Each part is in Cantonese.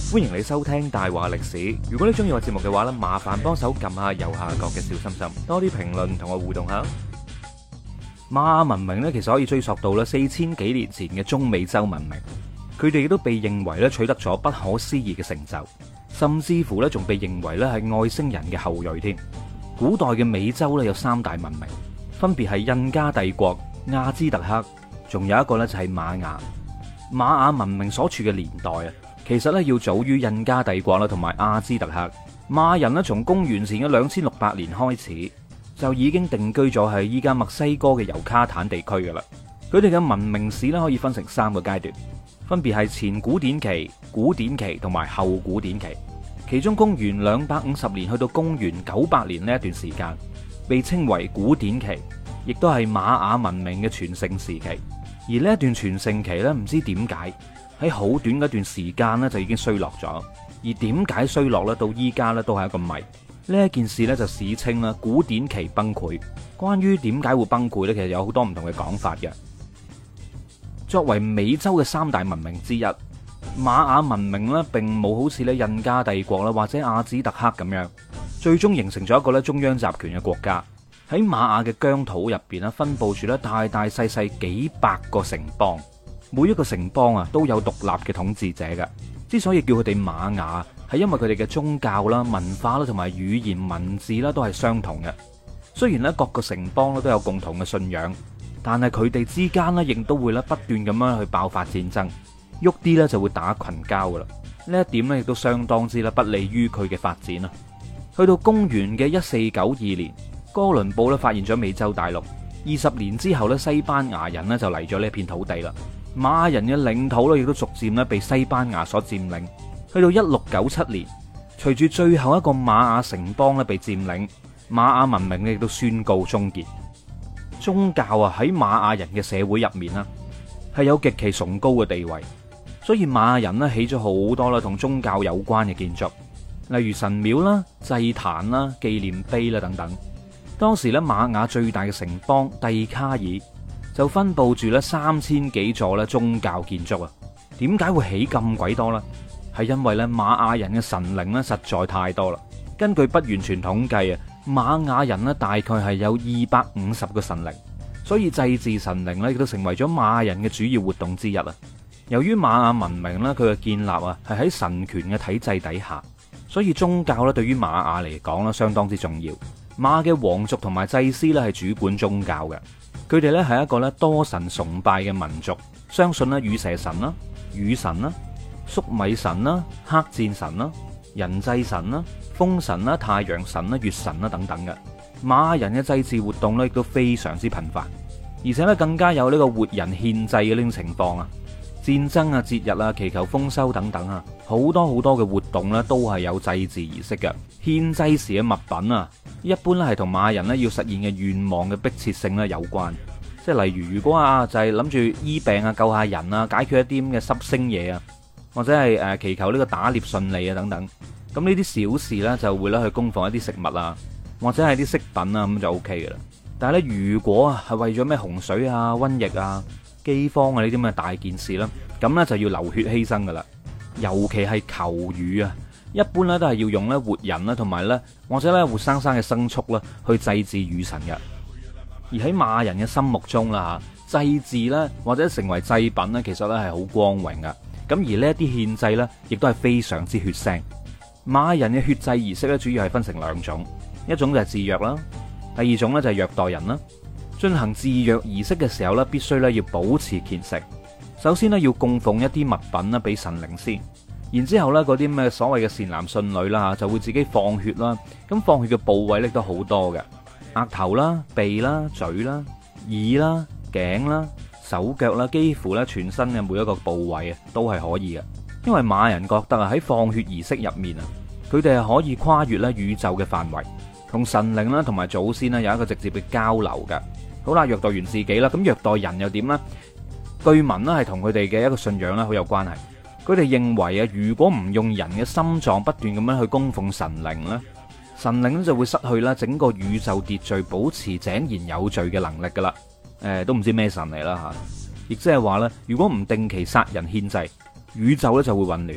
歡迎你收聽大話歷史。如果你中意我節目嘅話呢，麻煩幫手撳下右下角嘅小心心，多啲評論同我互動下。瑪雅文明呢，其實可以追溯到4000幾年前嘅中美洲文明，佢哋亦都被認為咧取得咗不可思議嘅成就，甚至乎咧仲被認為咧係外星人嘅後裔添。古代嘅美洲咧有3大文明，分別係印加帝國、亞茲特克，仲有一個咧就係瑪雅。瑪雅文明所處嘅年代啊，其實咧要早於印加帝國啦，同埋亞茲特克。瑪雅人咧從公元前嘅2600年開始就已經定居咗喺依家墨西哥嘅尤卡坦地區噶啦。佢哋嘅文明史咧可以分成3個階段，分別係前古典期、古典期同埋後古典期。其中公元250年去到公元900年呢一段時間，被稱為古典期，亦都係瑪雅文明嘅全盛時期。而呢一段全盛期咧，唔知點解喺好短嗰段時間咧就已經衰落咗。而點解衰落咧，到依家咧都係一個謎。呢一件事咧就史稱啦古典期崩潰。關於點解會崩潰咧，其實有好多唔同嘅講法嘅。作為美洲嘅3大文明之一，瑪雅文明咧並冇好似咧印加帝國啦或者亞茲特克咁樣，最終形成咗一個咧中央集權嘅國家。喺瑪雅嘅疆土入邊咧，分佈住咧大大細細幾百個城邦，每一個城邦啊都有獨立嘅統治者嘅。之所以叫佢哋瑪雅，係因為佢哋嘅宗教啦、文化啦同埋語言文字啦都係相同嘅。雖然咧各個城邦咧都有共同嘅信仰，但係佢哋之間咧亦都會咧不斷咁樣去爆發戰爭，喐啲咧就會打群交噶啦。呢一點咧亦都相當之咧不利於佢嘅發展啦。去到公元嘅1492年。哥倫布咧發現咗美洲大陸，20年之後咧，西班牙人咧就嚟咗呢一片土地啦。瑪雅人嘅領土咧亦都逐漸咧被西班牙所佔領。去到1697年，隨住最後一個瑪雅城邦咧被佔領，瑪雅文明咧亦都宣告終結。宗教啊喺瑪雅人嘅社會入面啦，係有極其崇高嘅地位，所以瑪雅人咧起咗好多啦同宗教有關嘅建築，例如神廟啦、祭壇啦、紀念碑啦等等。當時咧瑪雅最大嘅城邦蒂卡爾就分佈住咧3000幾座咧宗教建築啊。點解會起咁鬼多呢？係因為咧瑪雅人嘅神靈咧實在太多啦。根據不完全統計啊，瑪雅人咧大概係有250個神靈，所以祭祀神靈咧亦都成為咗瑪雅人嘅主要活動之一啊。由於瑪雅文明咧佢嘅建立啊係喺神權嘅體制底下，所以宗教咧對於瑪雅嚟講咧相當之重要。瑪雅嘅皇族同埋祭司咧係主管宗教嘅，佢哋咧係一個咧多神崇拜嘅民族，相信咧羽蛇神啦、雨神啦、粟米神啦、黑戰神啦、人祭神啦、風神啦、太陽神啦、月神啦等等嘅。瑪雅人嘅祭祀活動咧亦都非常之頻繁，而且咧更加有呢個活人獻祭嘅呢種情況啊，戰爭啊、節日啊、祈求豐收等等啊，好多好多嘅活動咧都係有祭祀儀式嘅。獻祭時嘅物品啊，一般咧係同瑪雅人咧要實現嘅願望嘅迫切性咧有關，即係例如果啊就係諗住醫病啊、救下人啊、解決一啲咁嘅濕星嘢啊，或者係祈求呢個打獵順利啊等等，咁呢啲小事咧就會咧去供奉一啲食物啊，或者係啲飾品啊，咁就 OK 嘅啦。但係咧如果啊係為咗咩洪水啊、瘟疫啊、饑荒啊呢啲咁嘅大件事啦，咁咧就要流血犧牲噶啦，尤其係求雨啊。一般咧都係要用咧活人啦，同埋咧或者咧活生生嘅牲畜啦去祭祀雨神嘅。而喺瑪雅人嘅心目中啦吓，祭祀咧或者成為祭品咧，其實咧係好光榮噶。咁而呢一啲獻祭咧，亦都係非常之血腥。瑪雅人嘅血祭儀式咧，主要係分成2種，一種就係自虐啦，第二種咧就係虐待人啦。進行自虐儀式嘅時候咧，必須咧要保持虔誠。首先咧要供奉一啲物品啦俾神靈先。然之後咧，嗰啲咩所謂嘅善男信女啦吓，就會自己放血啦。咁放血嘅部位咧都好多嘅，額頭啦、鼻啦、嘴啦、耳啦、頸啦、手腳啦，幾乎咧全身嘅每一個部位啊都係可以嘅。因為瑪雅人覺得啊喺放血儀式入面啊，佢哋係可以跨越咧宇宙嘅範圍，同神靈啦同埋祖先啦有一個直接嘅交流嘅。好啦，虐待完自己啦，咁虐待人又點呢？據聞咧係同佢哋嘅一個信仰咧好有關係。佢哋認為啊，如果唔用人嘅心臟不斷咁樣去供奉神靈咧，神靈就會失去啦整個宇宙秩序保持井然有序嘅能力噶啦。都唔知咩神嚟啦吓，亦即係話咧，如果唔定期殺人獻祭，宇宙咧就會混亂。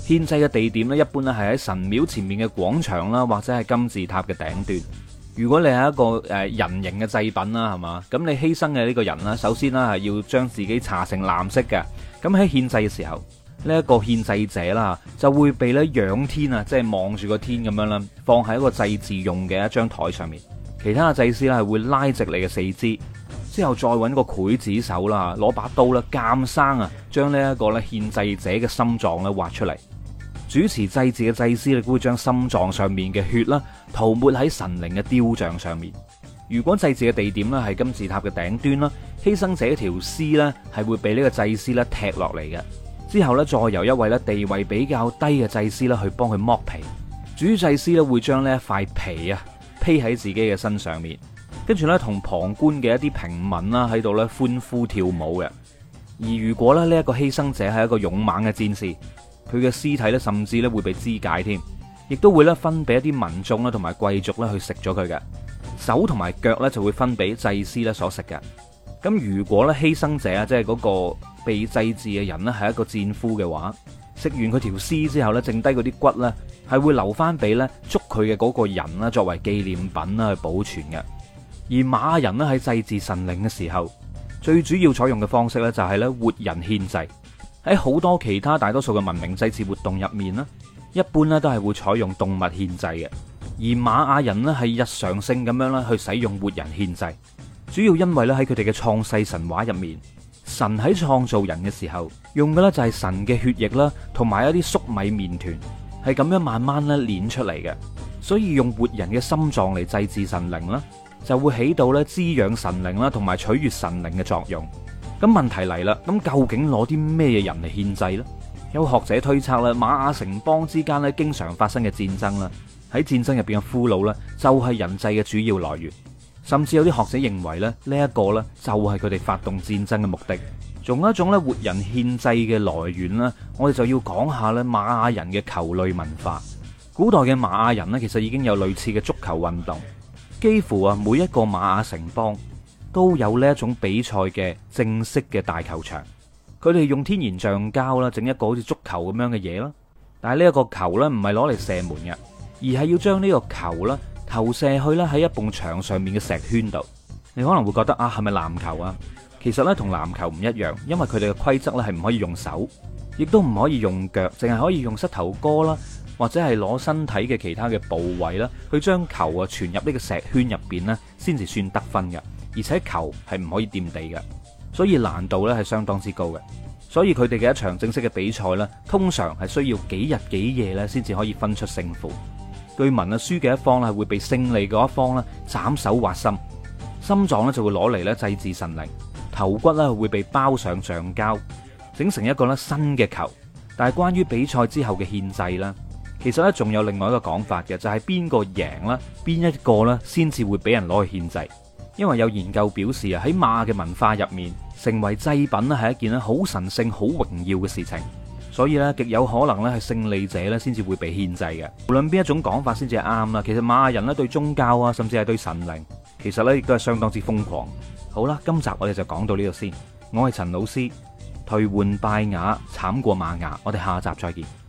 獻祭嘅地點咧，一般咧係喺神廟前面嘅廣場啦，或者係金字塔嘅頂端。如果你係一個人形嘅祭品啦，係嘛？咁你犧牲嘅呢個人啦，首先啦係要將自己搽成藍色嘅。咁喺獻祭嘅時候，呢一個獻祭者啦，就會被咧仰天啊，即係望住個天咁樣啦，放喺一個祭祀用嘅一張台上面。其他嘅祭司咧係會拉直你嘅四肢，之後再揾個劊子手啦，攞把刀啦，監生啊，將呢一個咧獻祭者嘅心臟咧挖出嚟。主持祭祀嘅祭司亦都會將心臟上面嘅血啦塗抹喺神靈嘅雕像上面。如果祭祀嘅地點咧係金字塔嘅頂端啦，犧牲者條屍咧係會被呢個祭司咧踢落嚟嘅。之後咧再由一位咧地位比較低嘅祭司咧去幫佢剝皮。主祭司咧會將呢一塊皮啊披喺自己嘅身上面，跟住咧同旁觀嘅一啲平民啦喺度咧歡呼跳舞嘅。而如果咧呢一個犧牲者係一個勇猛嘅戰士，佢嘅屍體咧甚至咧會被肢解添，亦都會咧分俾一啲民眾啦同埋貴族咧去食咗佢嘅。手同埋腳咧就會分俾祭司咧所食嘅。咁如果咧犧牲者啊，即係嗰個被祭祀嘅人咧係一個戰俘嘅話，食完佢條屍之後咧，剩低嗰啲骨咧係會留翻俾咧捉佢嘅嗰個人啦，作為紀念品啦去保存嘅。而瑪雅人咧喺祭祀神靈嘅時候，最主要採用嘅方式咧就係咧活人獻祭。喺好多其他大多數嘅文明祭祀活動入面咧，一般咧都係會採用動物獻祭嘅。而瑪雅人咧係日常性咁樣啦去使用活人獻祭，主要因為咧喺佢哋嘅創世神話入面，神喺創造人嘅時候用嘅咧就係神嘅血液啦，同埋一啲粟米麵團，係咁樣慢慢咧煉出嚟嘅。所以用活人嘅心臟嚟祭祀神靈啦，就會起到咧滋養神靈啦，同埋取悅神靈嘅作用。咁問題嚟啦，咁究竟攞啲咩人嚟獻祭呢？有學者推測啦，瑪雅城邦之間咧經常發生嘅戰爭啦，喺戰爭入邊嘅俘虜咧就係人祭嘅主要來源。甚至有啲學者認為咧呢一個咧就係佢哋發動戰爭嘅目的。仲有一種咧活人獻祭嘅來源啦，我哋就要講下咧瑪雅人嘅球類文化。古代嘅瑪雅人咧其實已經有類似嘅足球運動，幾乎啊每一個瑪雅城邦都有呢一種比賽嘅正式嘅大球場。佢哋用天然橡膠啦，整一個好似足球咁樣嘅嘢啦。但係呢一個球咧唔係攞嚟射門嘅，而係要將呢個球啦投射去咧喺一埲牆上面嘅石圈度。你可能會覺得啊，係咪籃球啊？其實咧同籃球唔一樣，因為佢哋嘅規則咧係唔可以用手，亦都唔可以用腳，淨係可以用膝頭哥啦，或者係攞身體嘅其他嘅部位啦，去將球啊傳入呢個石圈入邊咧，先至算得分嘅。而且球係唔可以掂地嘅，所以難度咧係相當之高嘅。所以佢哋嘅一場正式嘅比賽咧，通常係需要幾日幾夜咧，先至可以分出勝負。據聞啊，輸嘅一方咧係會被勝利嗰一方咧斬手挖心，心臟咧就會攞嚟咧祭祀神靈，頭骨咧會被包上橡膠，整成一個咧新嘅球。但係關於比賽之後嘅獻祭啦，其實咧仲有另外一個講法嘅，就係邊個贏啦，邊一個咧先至會俾人攞去獻祭。因為有研究表示啊，喺瑪雅嘅文化入面，成為祭品咧係一件咧好神聖、好榮耀嘅事情，所以咧極有可能咧係勝利者咧先至會被獻祭嘅。無論邊一種講法先至係啱啦，其實瑪雅人咧對宗教啊，甚至係對神靈，其實咧亦都係相當之瘋狂。好啦，今集我哋就講到呢度先。我係陳老師，退換拜雅，慘過瑪雅。我哋下集再見。